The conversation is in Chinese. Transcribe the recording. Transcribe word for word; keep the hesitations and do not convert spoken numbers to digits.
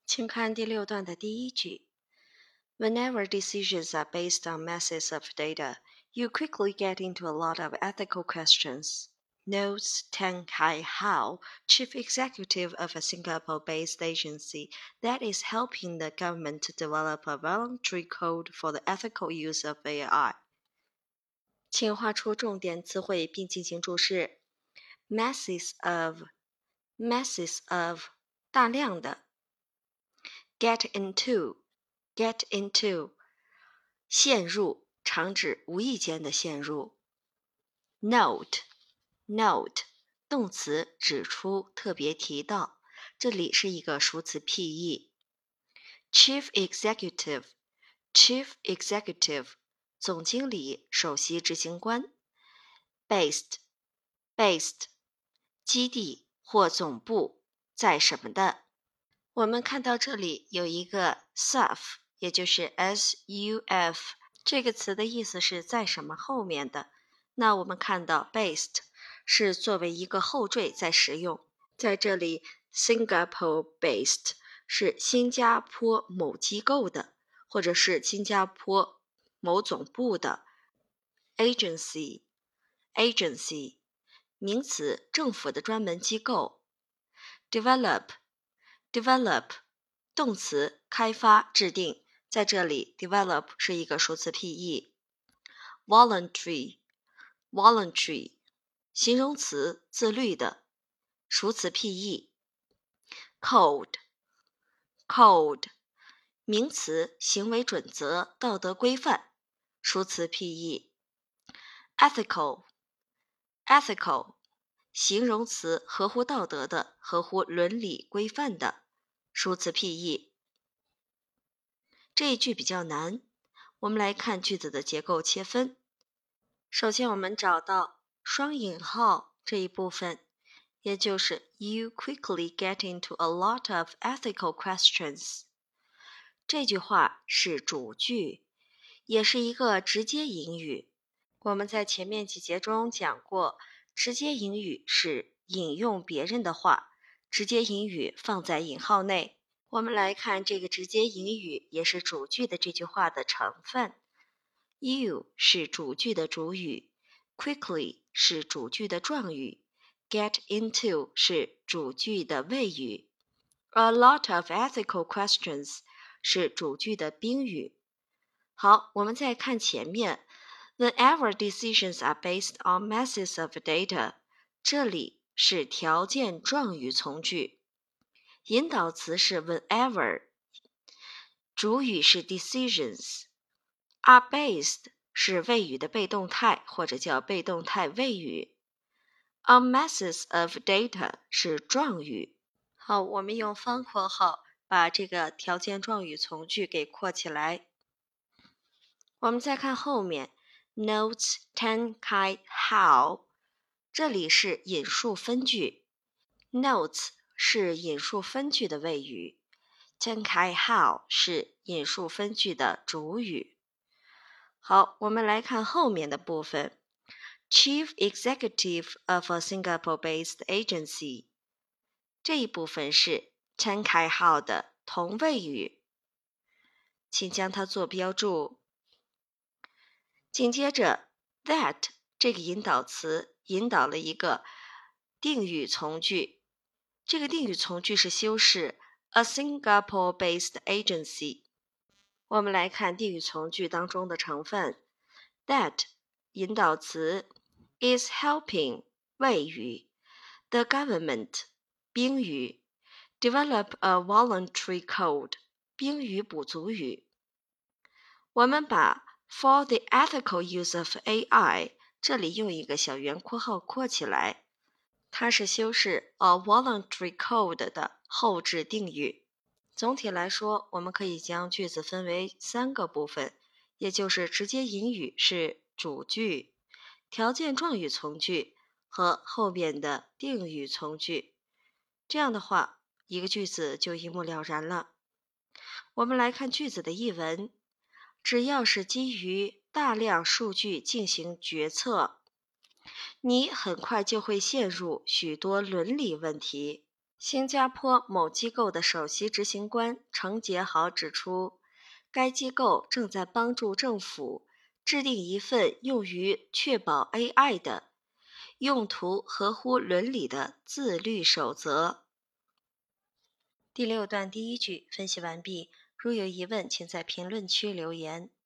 请看第六段的第一句。Whenever decisions are based on masses of data, you quickly get into a lot of ethical questions. Notes Tang Kai Hao, chief executive of a Singapore-based agency that is helping the government to develop a voluntary code for the ethical use of A I. 请画出重点词汇并进行注释。Masses of, masses of, 大量的。Get into, get into, 陷入，常指无意间的陷入。Note, note, 动词，指出，特别提到，这里是一个数词 P E。Chief executive, chief executive, 总经理，首席执行官。Based, based, 基地或总部，在什么的。我们看到这里有一个 suf， 也就是 S U F， 这个词的意思是在什么后面的。那我们看到 based 是作为一个后缀在使用，在这里 Singapore based 是新加坡某机构的，或者是新加坡某总部的。Agency, agency 名词，政府的专门机构。Develop Develop 动词，开发、制定，在这里 develop 是一个数词 P E。Voluntary Voluntary 形容词，自律的，数词 P E。Code Code 名词，行为准则、道德规范，数词 P E。Ethical Ethical 形容词，合乎道德的，合乎伦理规范的，数词 P E。 这一句比较难，我们来看句子的结构切分。首先我们找到双引号这一部分，也就是 You quickly get into a lot of ethical questions。 这句话是主句，也是一个直接引语。我们在前面几节中讲过，直接引语是引用别人的话，直接引语放在引号内。我们来看这个直接引语也是主句的这句话的成分。You 是主句的主语， Quickly 是主句的状语， Get into 是主句的谓语， A lot of ethical questions 是主句的宾语。好，我们再看前面。Whenever decisions are based on masses of data， 这里是条件状语从句，引导词是 whenever， 主语是 decisions，are based 是谓语的被动态或者叫被动态谓语， on masses of data 是状语。好，我们用方括号把这个条件状语从句给括起来。我们再看后面 Notes Tang Kai Hao， 这里是引述分句， Notes 是引述分句的谓语， Tang Kai Hao 是引述分句的主语。好，我们来看后面的部分。 Chief Executive of a Singapore-based agency， 这一部分是 Tang Kai Hao 的同谓语，请将它做标注。紧接着 that 这个引导词引导了一个定语从句，这个定语从句是修饰 a Singapore-based agency。 我们来看定语从句当中的成分。 That 引导词 is helping 谓语， the government 宾语， develop a voluntary code 宾语补足语。我们把For the ethical use of A I 这里用一个小圆括号括起来，它是修饰 a voluntary code 的后置定语。总体来说，我们可以将句子分为三个部分，也就是直接引语是主句，条件状语从句和后边的定语从句。这样的话，一个句子就一目了然了。我们来看句子的译文。只要是基于大量数据进行决策，你很快就会陷入许多伦理问题。 新加坡某机构的首席执行官程杰豪指出，该机构正在帮助政府制定一份用于确保 A I 的用途合乎伦理的自律守则。第六段第一句分析完毕，如有疑问，请在评论区留言。